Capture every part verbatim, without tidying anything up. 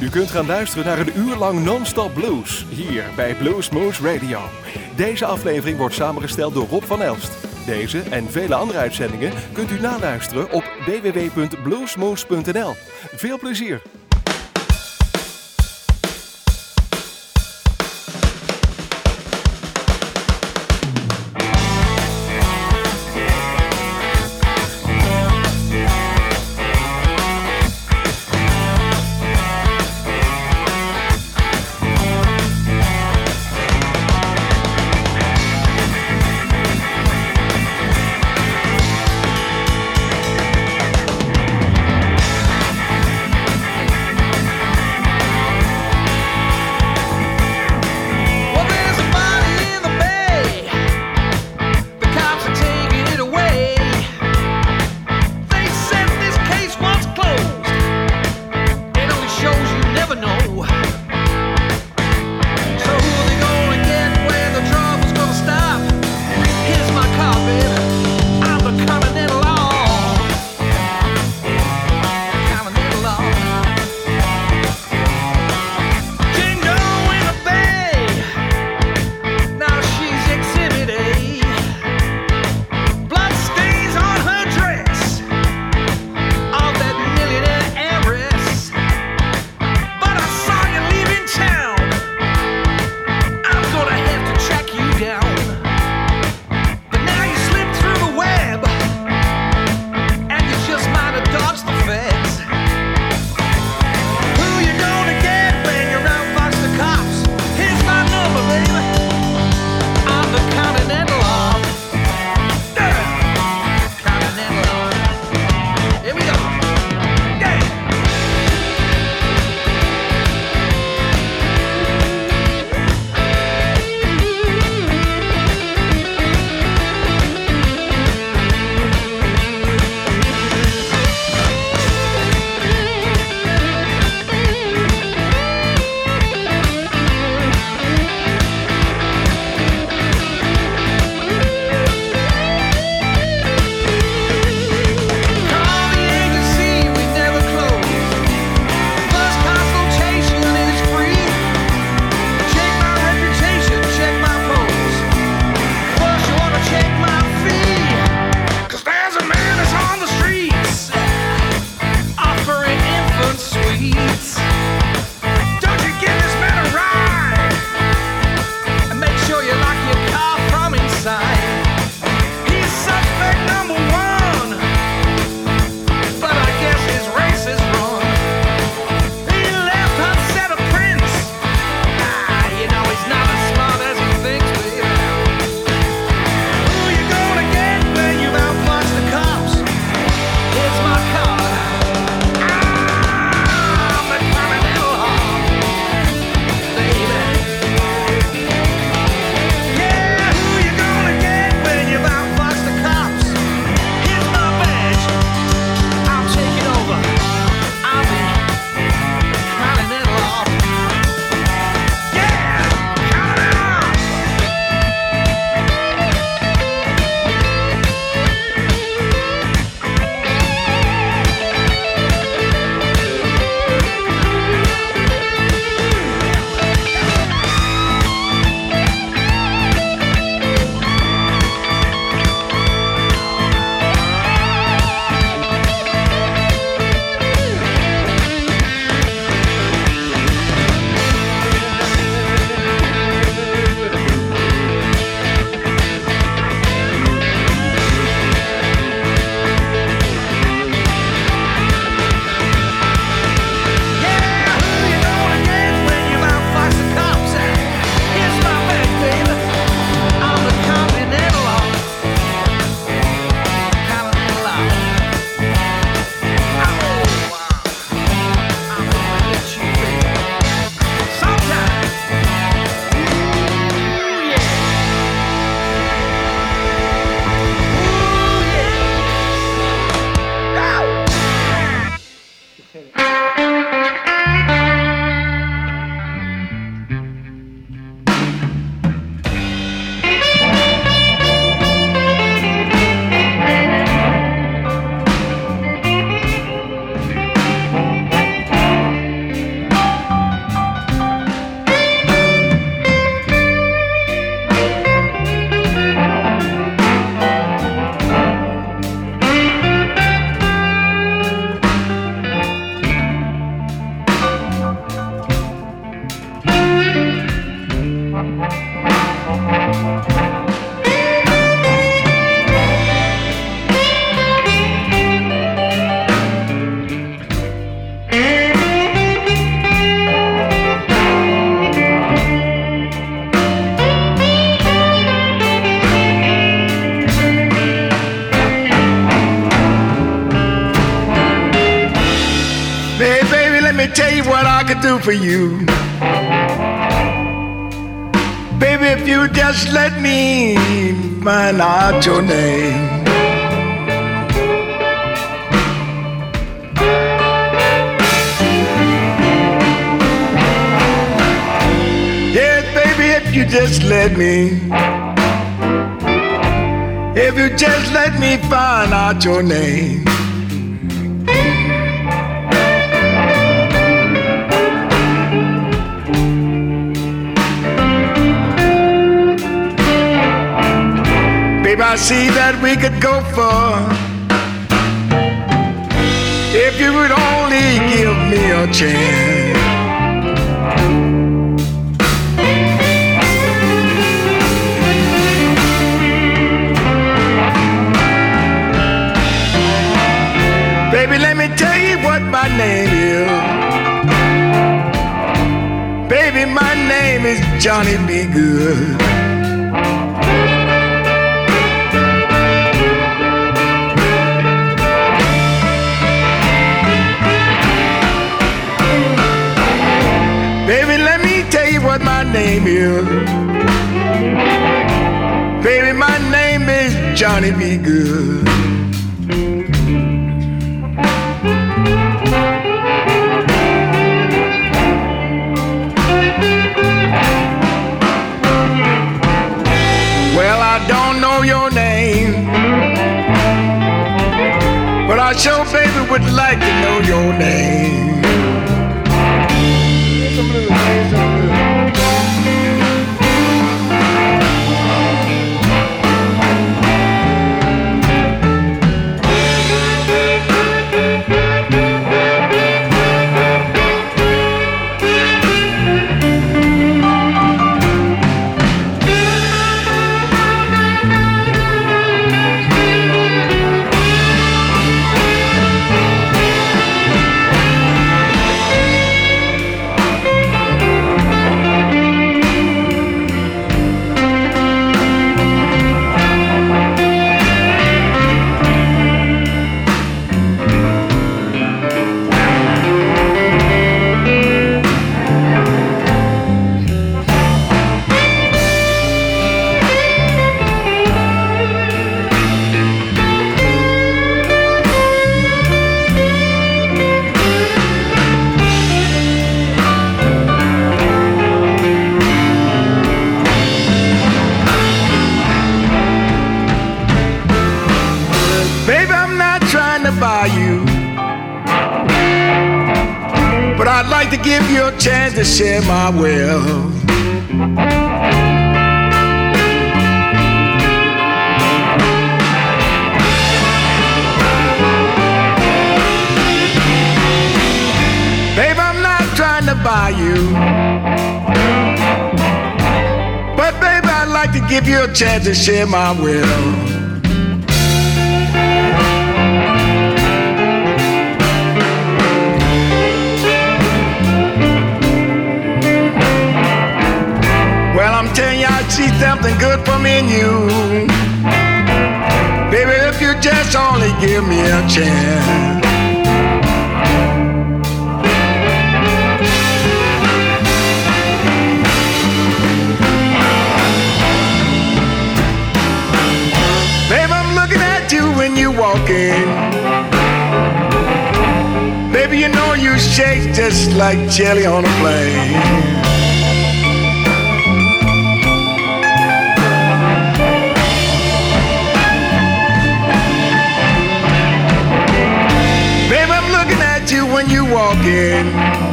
U kunt gaan luisteren naar een uur lang non-stop blues, hier bij Bluesmoose Radio. Deze aflevering wordt samengesteld door Rob van Elst. Deze en vele andere uitzendingen kunt u naluisteren op w w w punt bluesmoose punt n l. Veel plezier! tell you what I could do for you. Baby, if you just let me find out your name. Yes, baby, if you just let me. If you just let me find out your name. Baby, I see that we could go far if you would only give me a chance. Baby, let me tell you what my name is. Baby, my name is Johnny B. Good. Baby, let me tell you what my name is. Baby, my name is Johnny B. Good. Well, I don't know your name, but I sure, baby, would like to know your name. To give you a chance to share my wealth. Babe, I'm not trying to buy you, but baby, I'd like to give you a chance to share my wealth. I'm telling you, I see something good for me and you. Baby, if you just only give me a chance. Baby, I'm looking at you when you walk in. Baby, you know you shake just like jelly on a plane. When you walk in,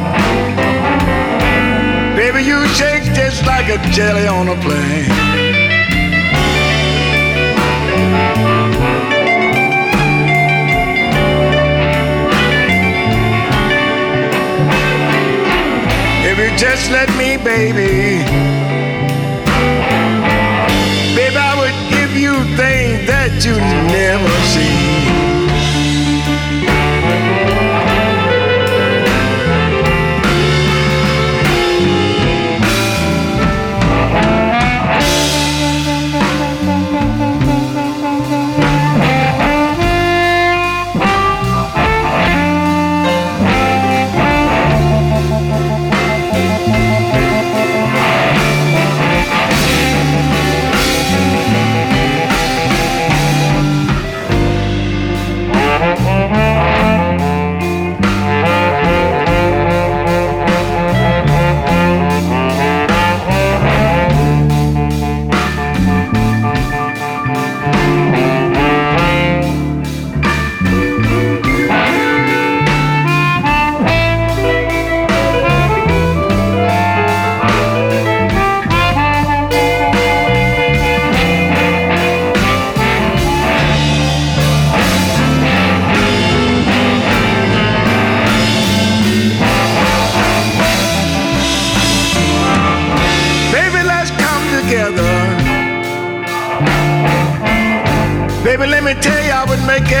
baby, you shake just like a jelly on a plane. If you just let me, baby, baby, I would give you things that you never seen.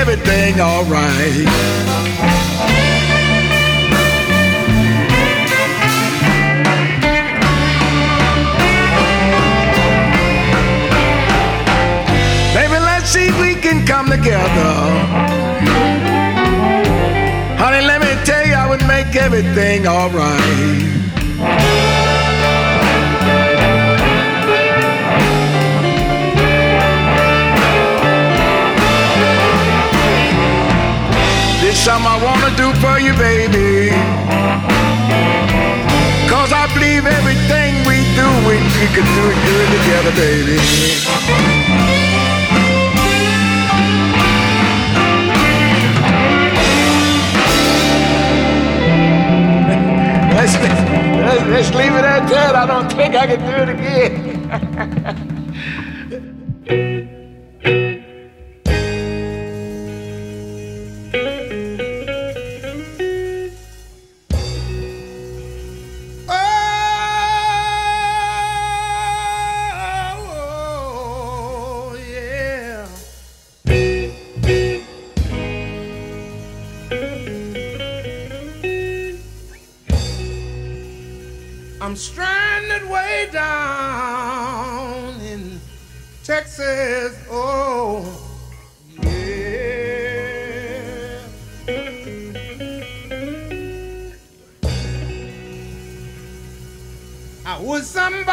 everything alright. Baby, let's see if we can come together. Honey, let me tell you, I would make everything alright. There's something I wanna do for you, baby. Cause I believe everything we do, we, we can do it good together, baby. Let's, let's, let's leave it at that. I don't think I can do it again. I'm stranded way down in Texas, oh, yeah. I was somebody,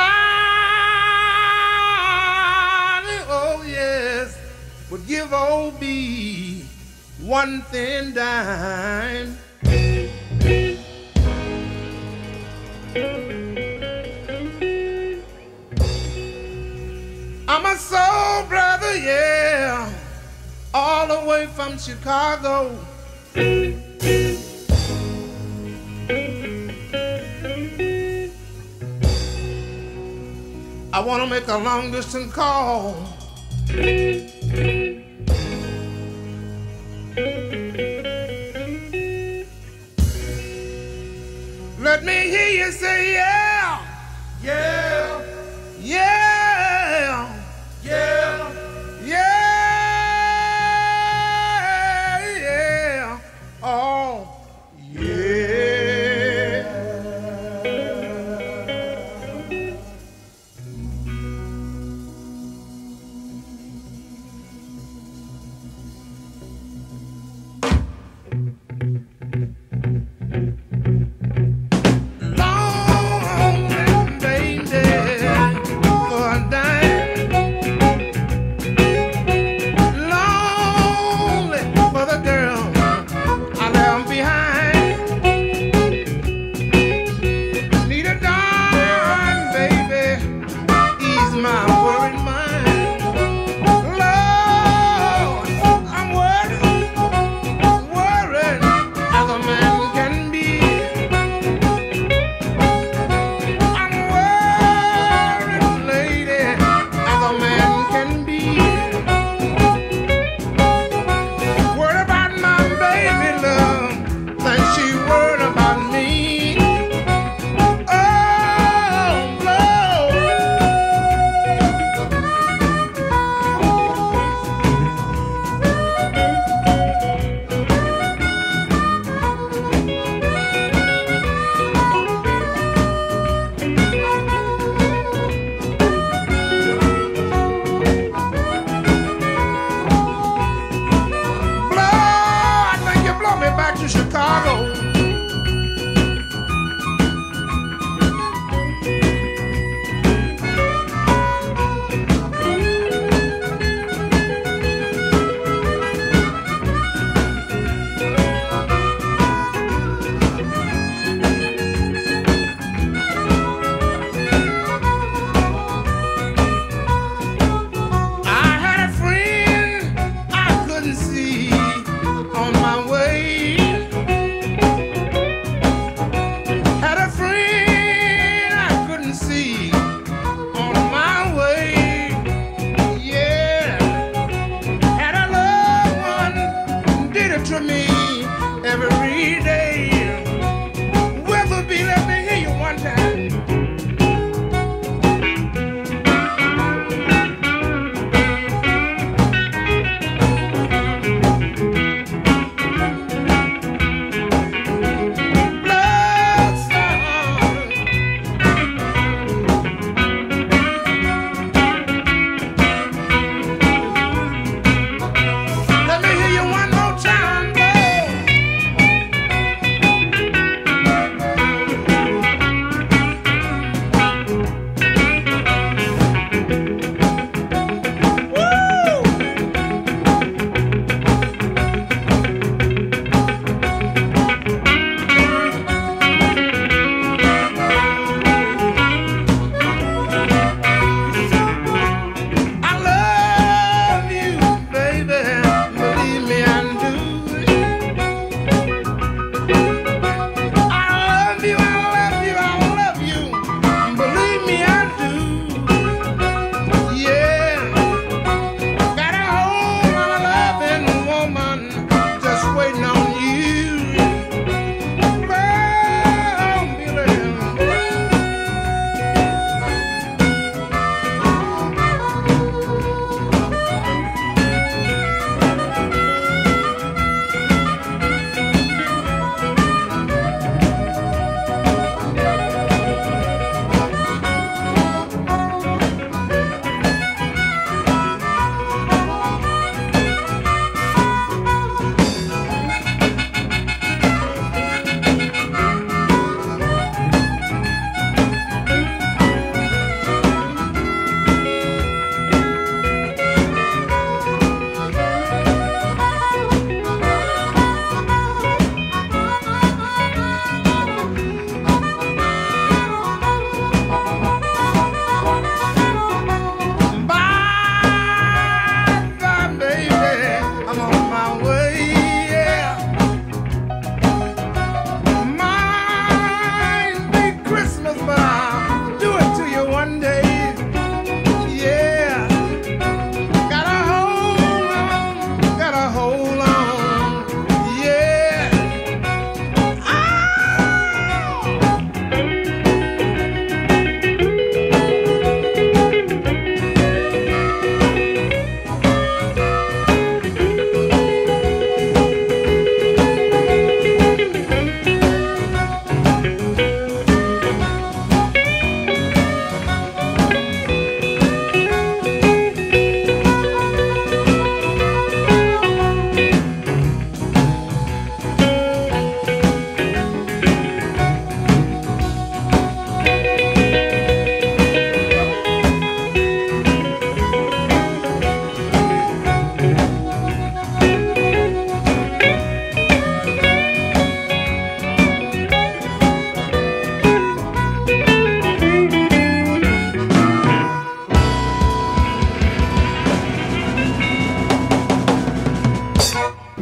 oh yes, would give old B one thin dime. I'm a soul brother, yeah, all the way from Chicago. I want to make a long distance call. Let me hear you say yeah, yeah, yeah, yeah, yeah, yeah, oh, yeah.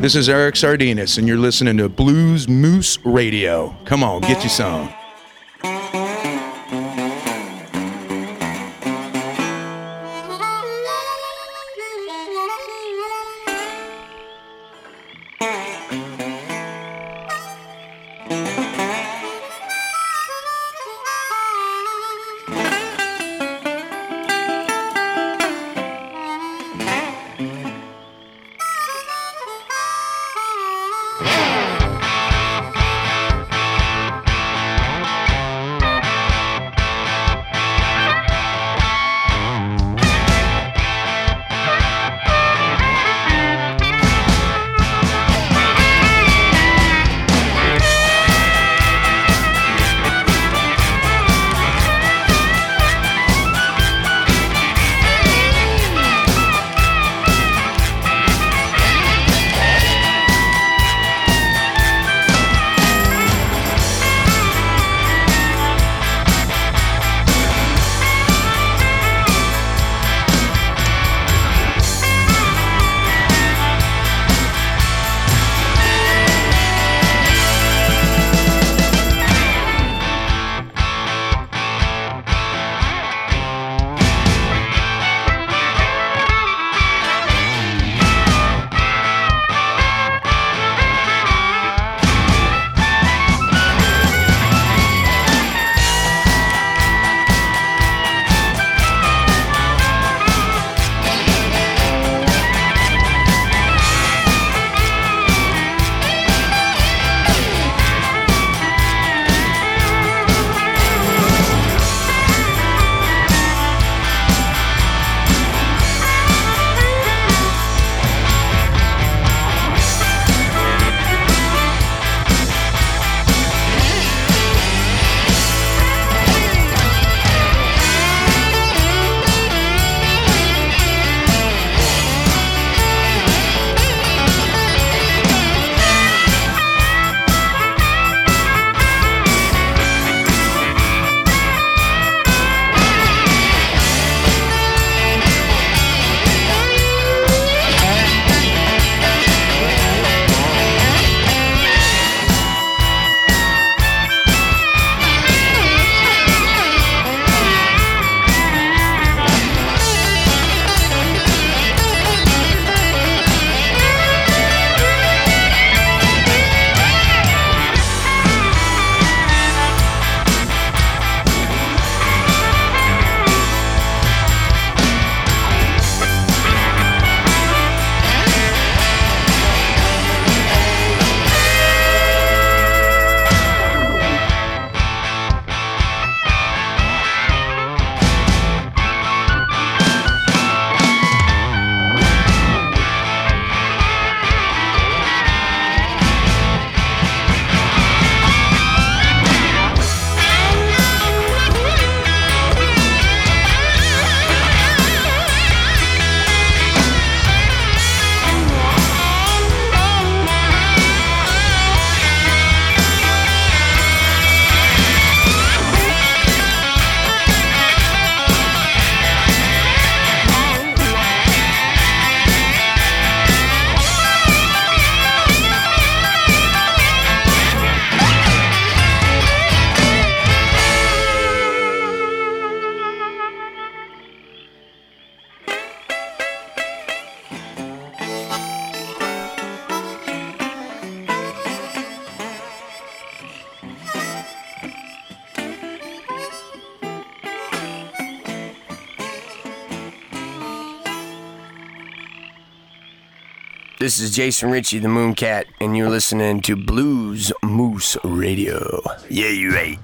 This is Eric Sardinas, and you're listening to Blues Moose Radio. Come on, get you some. This is Jason Ritchie, the Mooncat, and you're listening to Blues Moose Radio. Yeah, you right.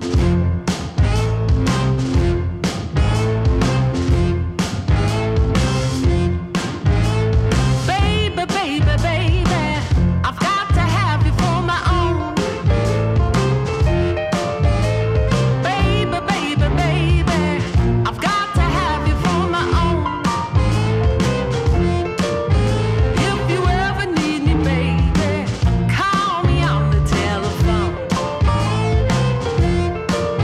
Call me on the telephone.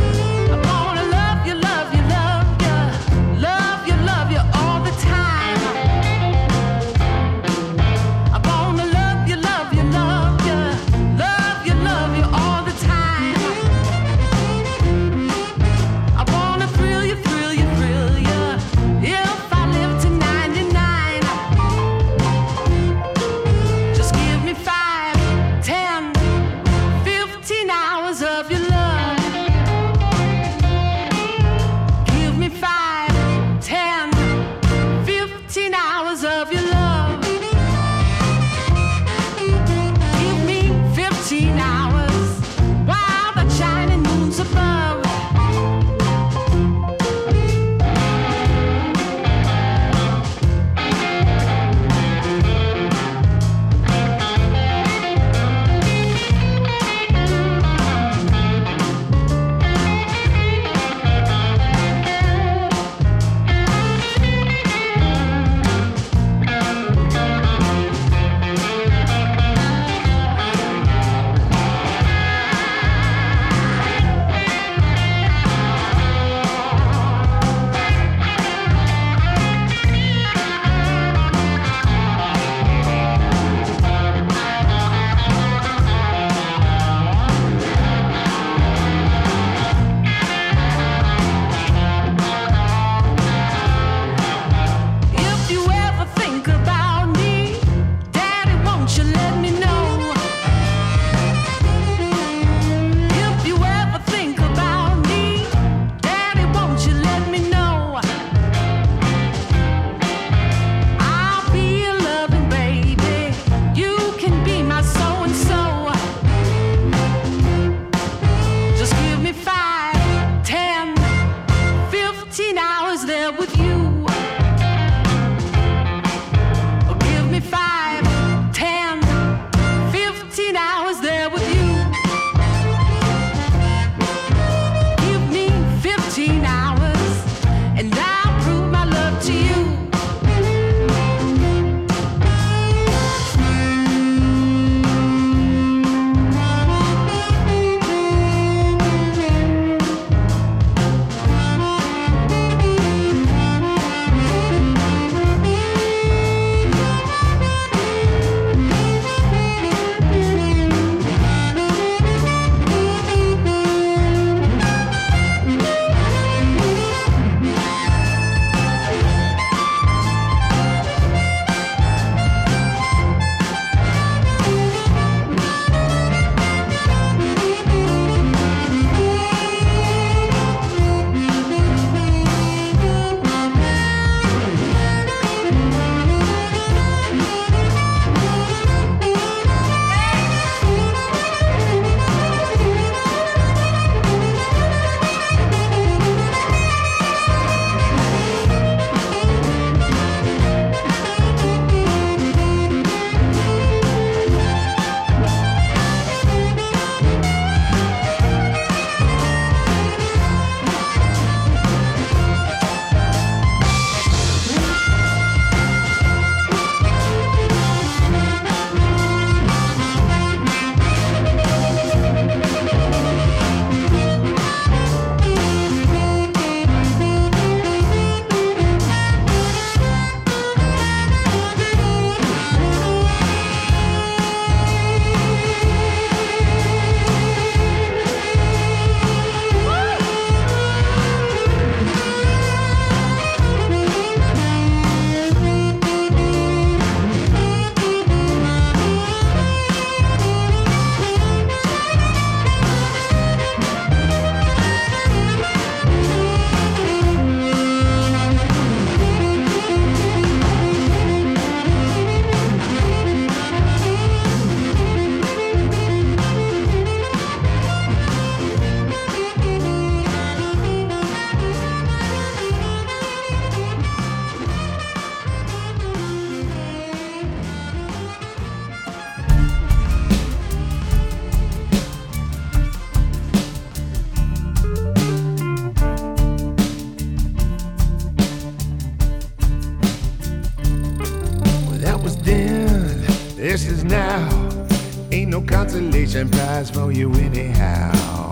no consolation prize for you anyhow.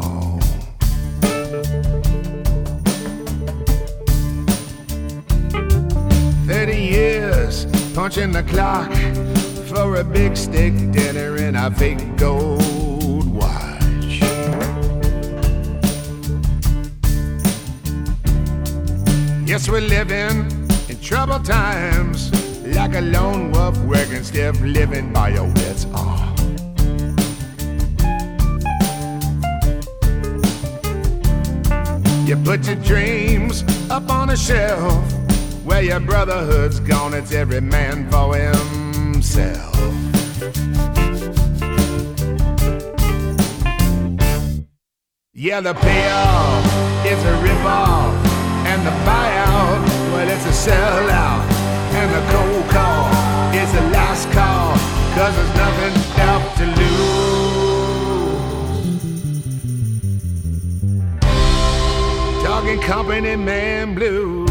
Thirty years punching the clock for a big steak dinner and a fake gold watch. Yes, we're living in troubled times, like a lone wolf working stiff, living by your wits. Oh. You put your dreams up on a shelf, where your brotherhood's gone, it's every man for himself. Yeah, the payoff is a rip-off, and the buyout, well, it's a sellout. And the cold call is the last call, 'cause there's nothing left to lose. Talking company man blues,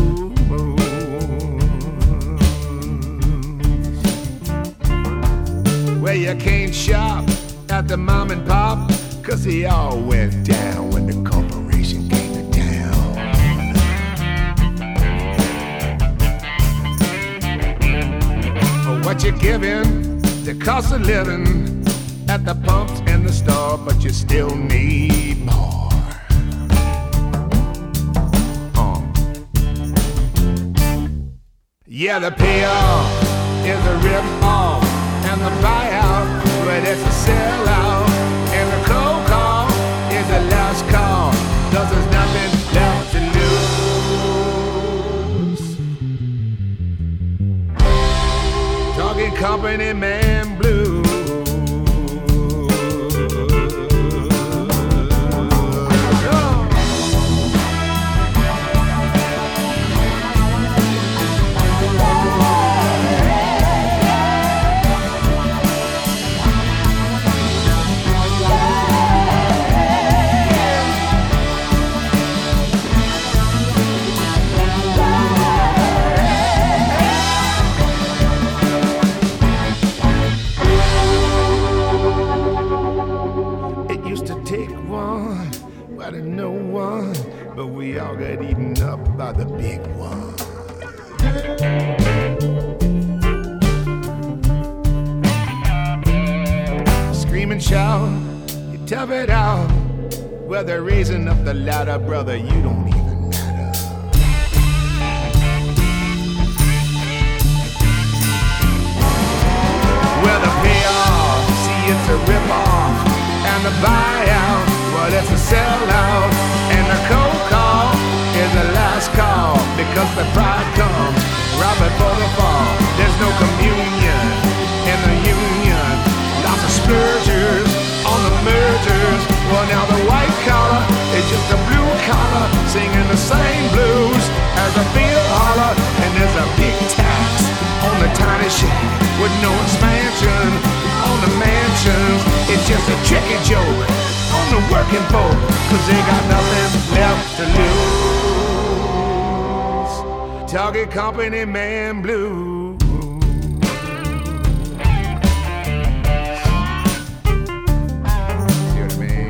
where you can't shop at the mom and pop, 'cause they all went down when the corporation came to town. For what you're giving, the cost of living at the pumps and the store, but you still need more. Uh. Yeah, the payoff is a rip-off, and the buyout, well, it's a sellout. And the cold call is the last call, 'cause there's nothing left to lose. Talking company man blues. But we all got eaten up by the big one. Scream and shout, you tough it out. Well, they're raising up the ladder, brother, you don't even matter. Well, the payoff, see, it's a rip-off, and the buyout, well, it's a sellout. And the cold call is the last call, because the pride comes right before the fall. There's no communion in the union, lots of splurgers on the mergers. Well, now the white collar is just a blue collar, singing the same blues as a field holler. And there's a big tax on the tiny shack with no expansion on the mansions. It's just a tricky joke on the working folk, 'cause they got nothing left to lose. Target company man blues. See what I mean?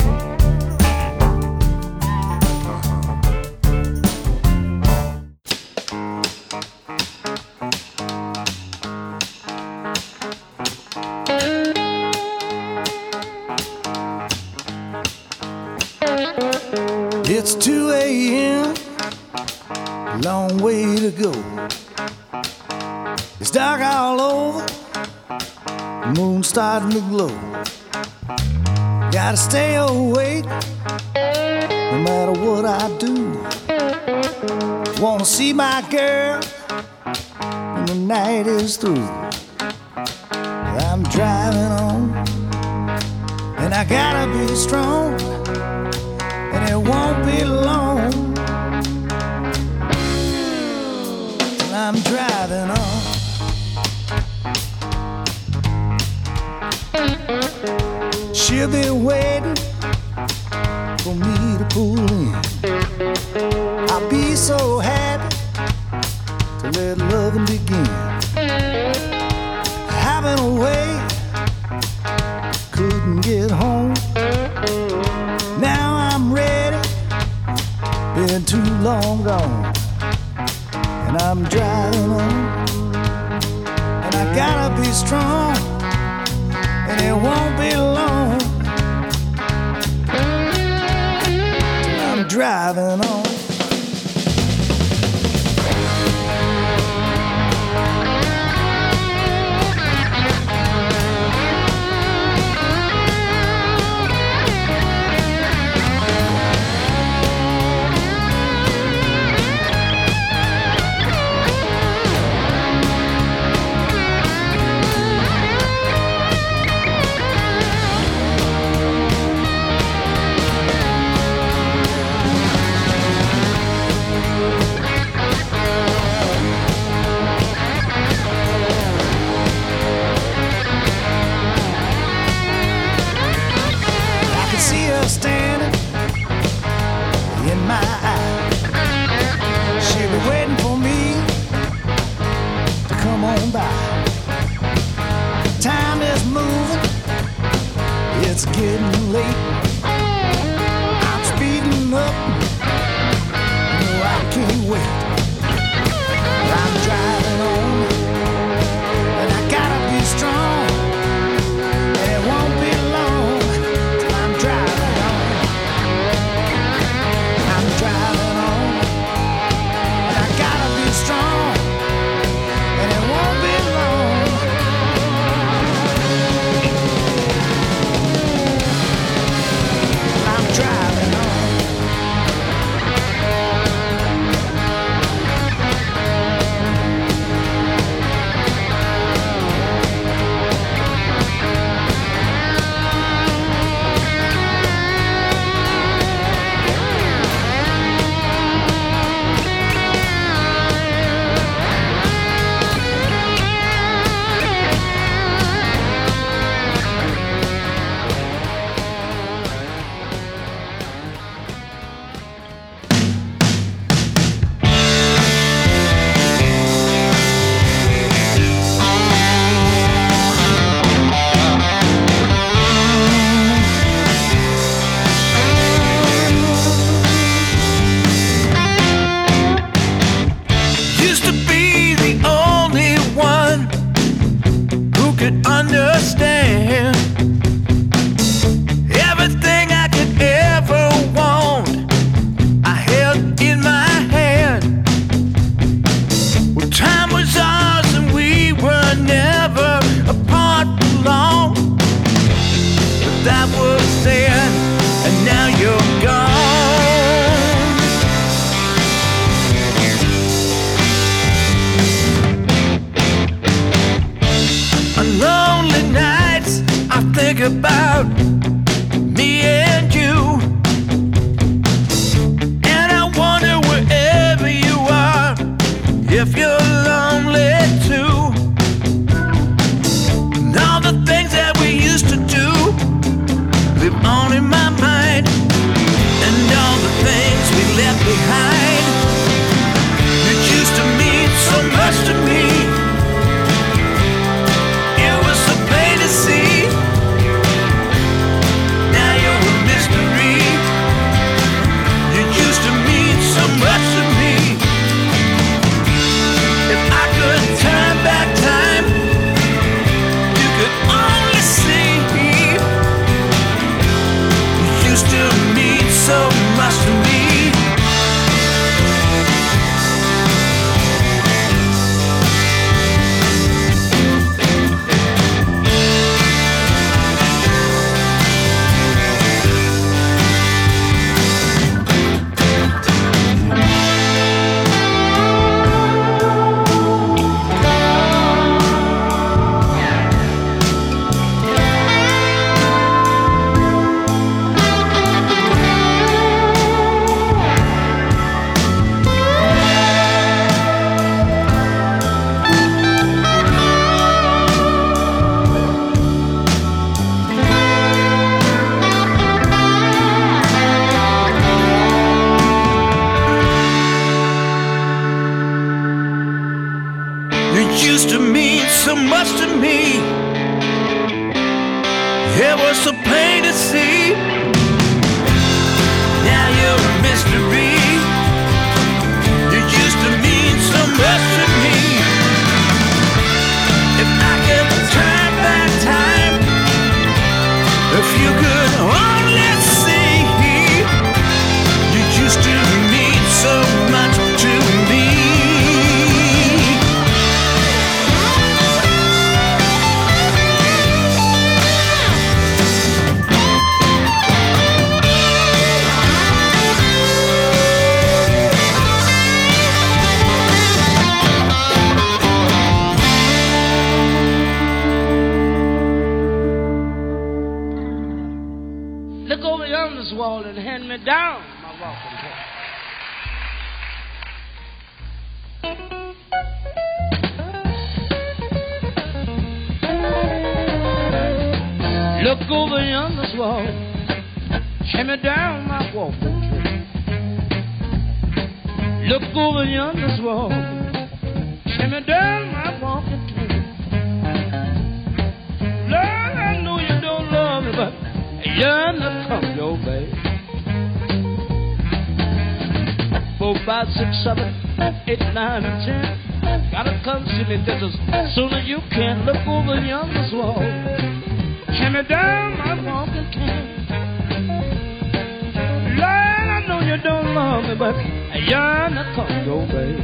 It's two a.m., long way to go. It's dark all over, the moon's starting to glow. Gotta stay awake, no matter what I do. Wanna see my girl when the night is through. I'm driving on, and I gotta be strong, and it won't be long till I'm driving on. She'll be waiting for me to pull in. I'll be so happy to let loving begin. Having a way couldn't get home. Now I'm ready, been too long gone, and I'm driving on. And I gotta be strong, and it won't be long till I'm driving on. Standing in my eye, she'll be waiting for me to come on by. Time is moving, it's getting late. I'm speeding up, no, I can't wait. I'm driving on, and I gotta be strong, and it won't be long till I'm driving. Driving on, and I gotta be strong, and it won't be long. I'm driving on. About me and you, and I wonder wherever you are, if you're lonely too. And all the things that we used to do live on in my mind, and all the things we left behind. It used to mean so much to me. It was so plain to see. So much to me. plain to see. Now you're a mystery. You used to mean so much to me. If I could turn back time, if you could only see, you used to mean so much to me. Look over yonder wall and hand me down my walking cane. Look over yonder wall, hand me down my walking cane. Look over yonder wall, hand me down my walking cane. Lord, I know you don't love me, but yearn to come your way. Four, five, six, seven, eight, nine, and ten. Gotta come see me just as soon as you can. Look over yonder wall, hand me down my walking cane. Lord, I know you don't love me, but I yearn to come your way.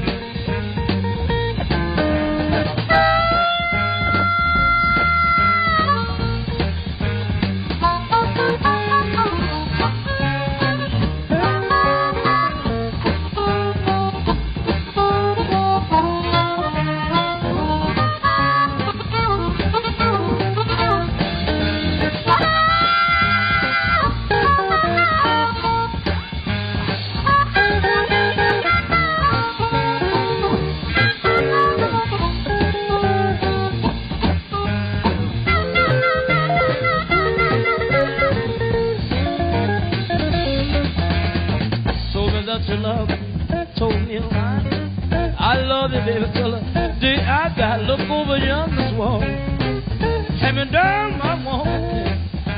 To love, told me a lie. I love you, baby, till the day I die. Look over yonder wall, hand me down my walking.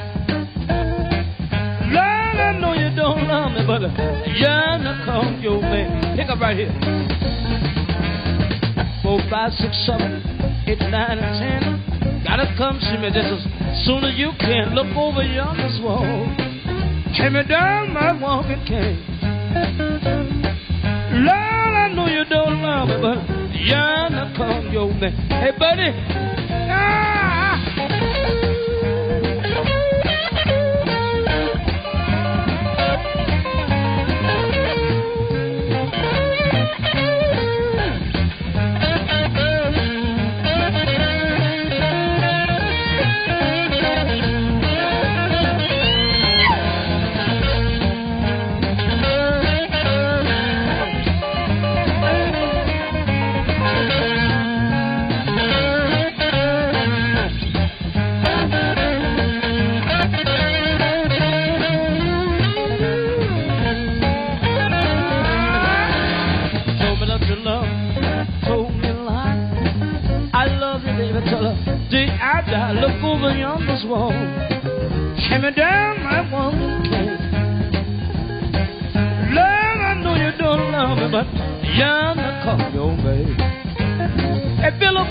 Lord, I know you don't love me, but yearn to come your way. Pick up right here. Four, five, six, seven, eight, nine, and ten. Gotta come see me just as soon as you can. Look over yonder wall, hand me down my walking cane. Lord, I know you don't love me, but yearn to come your way. Hey, buddy. Ah! Look over yonder wall, hand me down my walking cane. Lord, I know you don't love me, but yearn to come your way. Hey, Philip.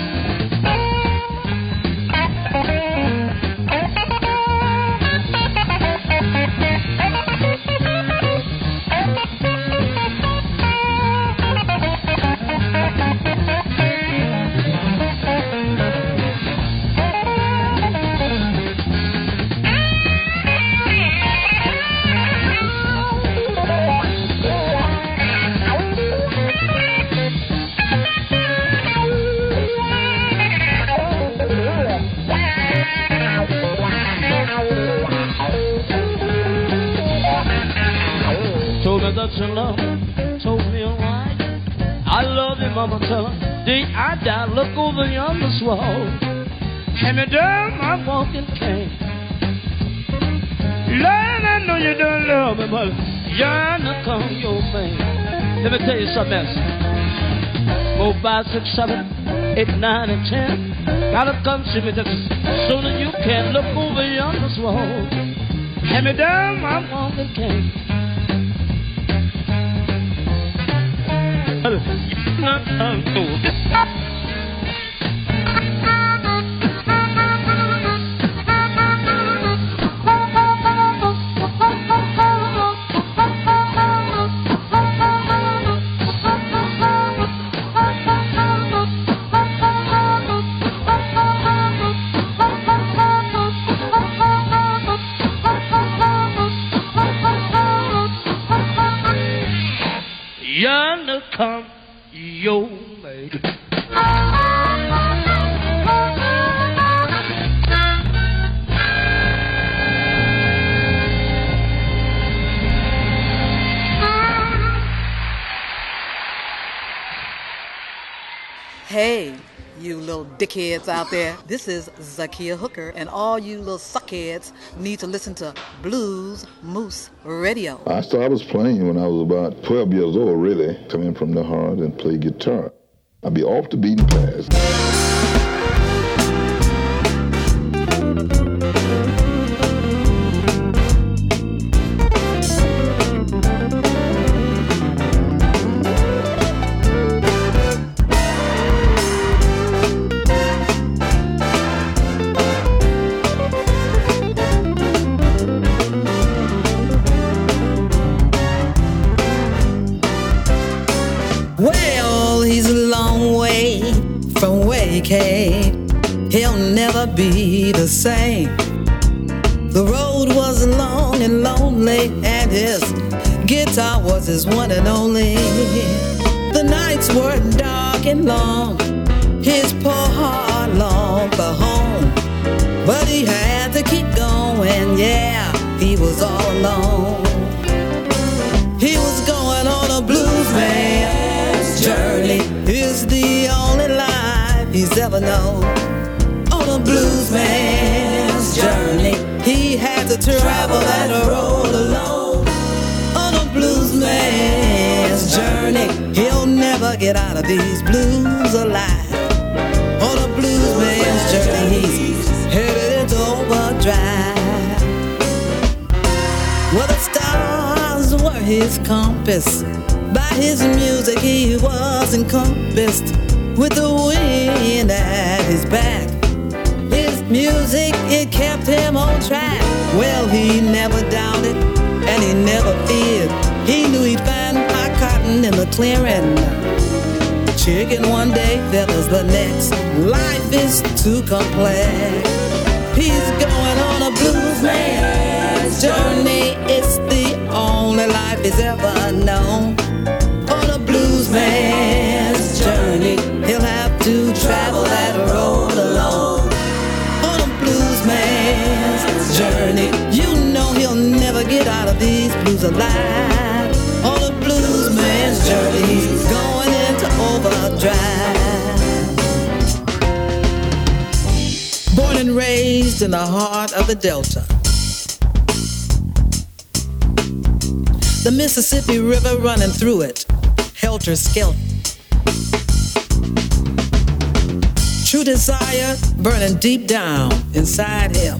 That your love told me a lie. I love you, mama, tell her day I die. Look over yonder wall, hand me down my walking cane. Lord, I know you don't love me, but yearn to come your way. Let me tell you something else. Four, five, six, seven, eight, nine, and ten. Gotta come see me just as soon as you can. Look over yonder wall. Hand me down my woman cane. Yonder come your lady. Hey, you little dickheads out there. This is Zakia Hooker, and all you little suckheads need to listen to Blues Moose Radio. I started, I was playing when I was about twelve years old, really, coming from the heart and play guitar. I'd be off the beaten path. Well, he's a long way from where he came. He'll never be the same. The road was long and lonely, and his guitar was his one and only. The nights were dark and long, his poor heart longed for home. But he had to keep going, yeah, he was all alone. He was going on a blues man's journey. It's the only life he's ever known. On a blues man's journey, he had to travel that road alone. On a blues man's journey, he'll never get out of these blues alive. On a blues man's journey, he's headed into overdrive. Well, the stars were his compass. By his music he was encompassed with the wind at his back. His music, it kept him on track. Well, he never doubted and he never feared. He knew he'd find hot cotton in the clearing. Chicken one day, feathers the next. Life is too complex. He's going on a blues man's journey. It's the only life he's ever known. On a blues man's journey, he'll have to travel that road alone. On a blues man's journey, you know he'll never get out of these blues alive. On a blues man's journey, he's going into overdrive. Born and raised in the heart of the Delta, the Mississippi River running through it, helter-skelter. True desire burning deep down inside him.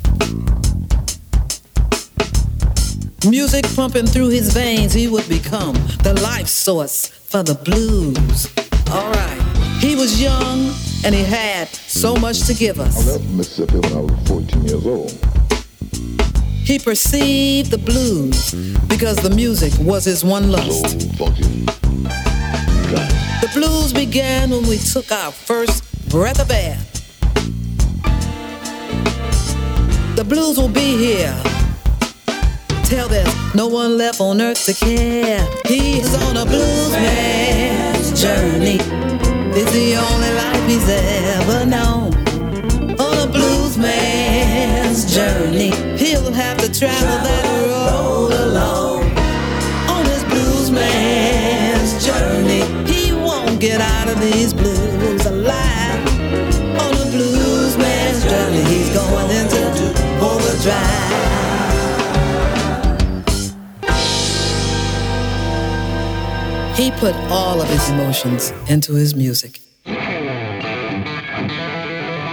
Music pumping through his veins, he would become the life source for the blues. All right. He was young and he had so much to give us. I left Mississippi when I was fourteen years old. He perceived the blues because the music was his one lust. So funky. The blues began when we took our first breath of air. The blues will be here till there's no one left on earth to care. He's on a blues man's journey. It's the only life he's ever known. On a blues man's journey, he'll have to travel that road alone. On his blues man's journey, he won't get out of these blues alive. On a blues man's journey, he's going into overdrive. He put all of his emotions into his music.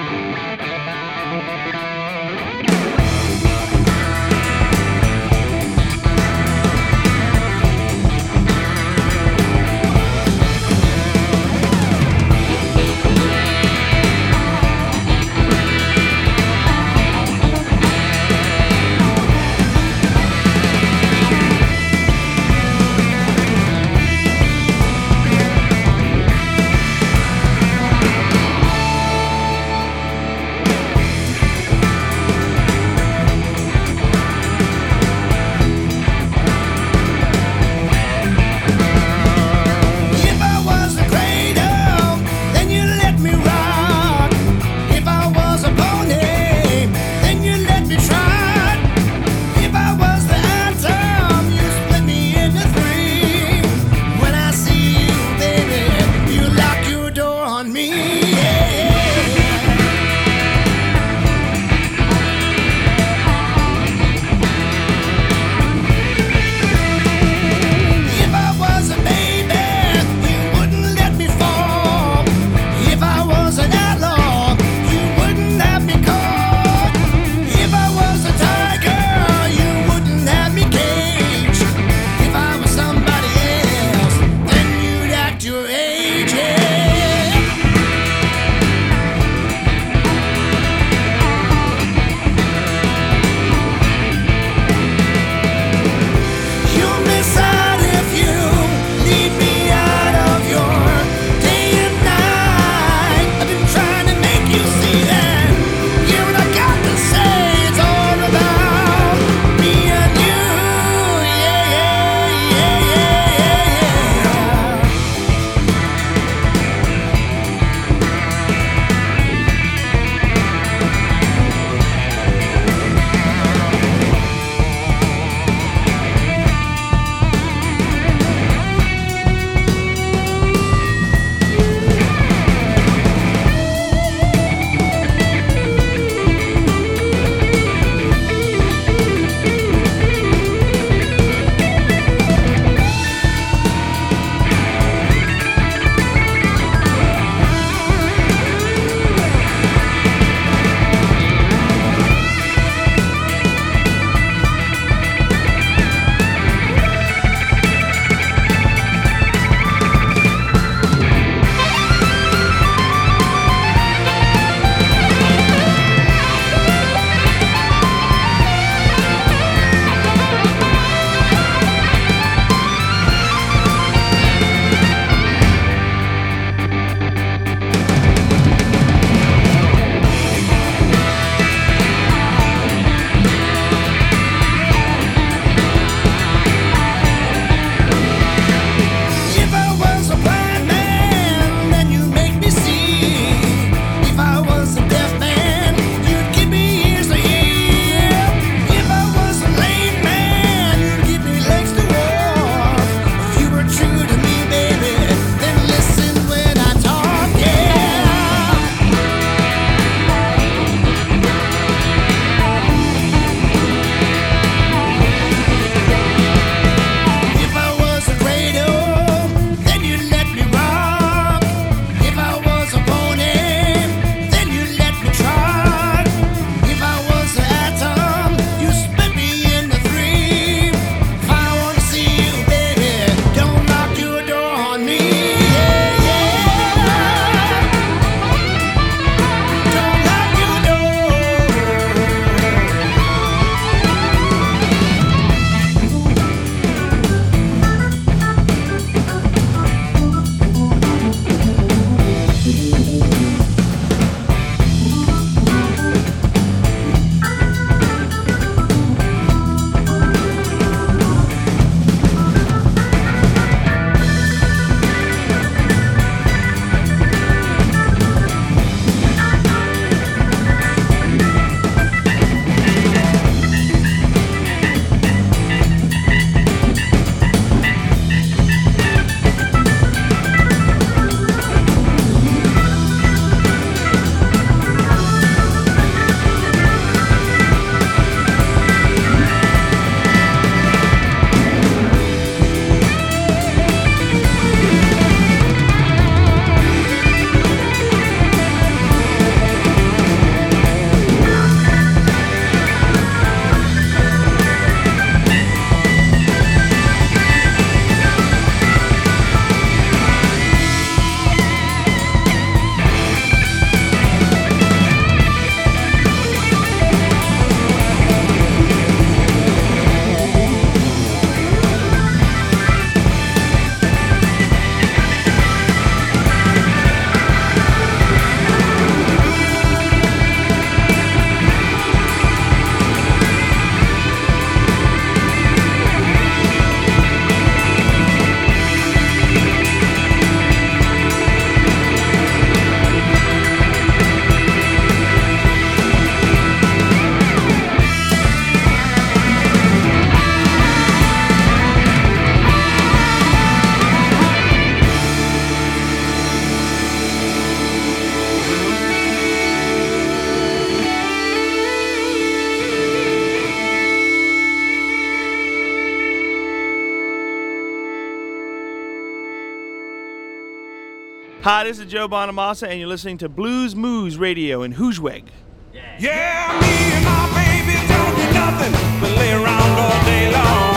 Hi, this is Joe Bonamassa, and you're listening to Blues Moose Radio in Hoosweg. Yeah, me and my baby don't do nothing but lay around all day long.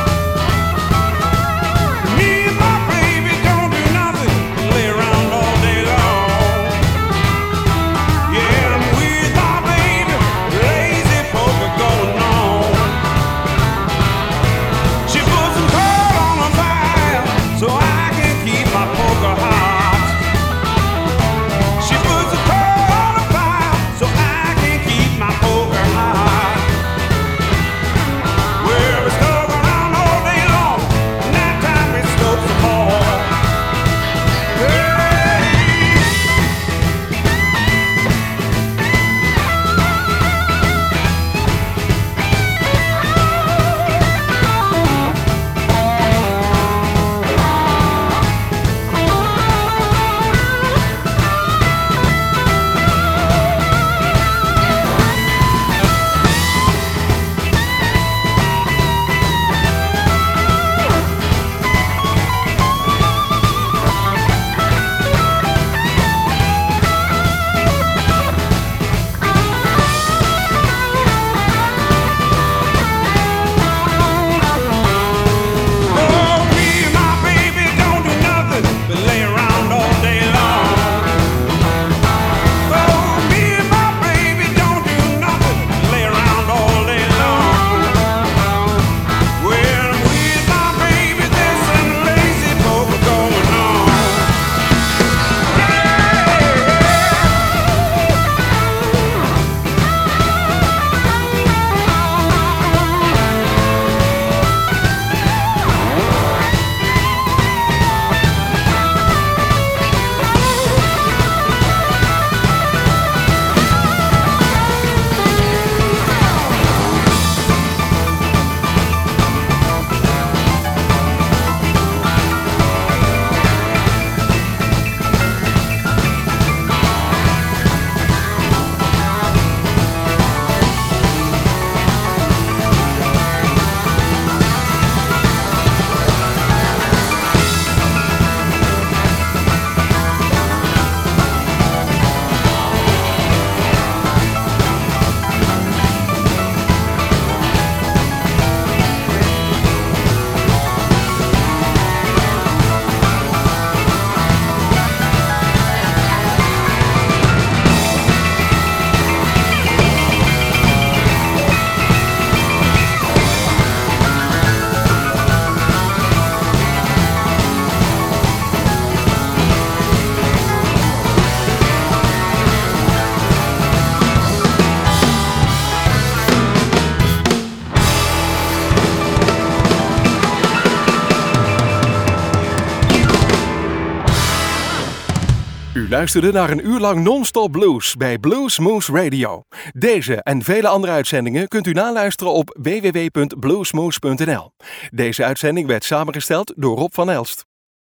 Me and my baby don't do nothing but lay around all day long. Yeah, I'm with my baby, lazy poker going on. She puts some coal on the fire so I can keep my poker hot. She puts some coal on the fire so I can keep my poker hot. Well, we stuck around all day long, night time we stokes the ball. U luisterde naar een uur lang non-stop blues bij Blues Moose Radio. Deze en vele andere uitzendingen kunt u naluisteren op w w w punt bluesmoose punt n l. Deze uitzending werd samengesteld door Rob van Elst.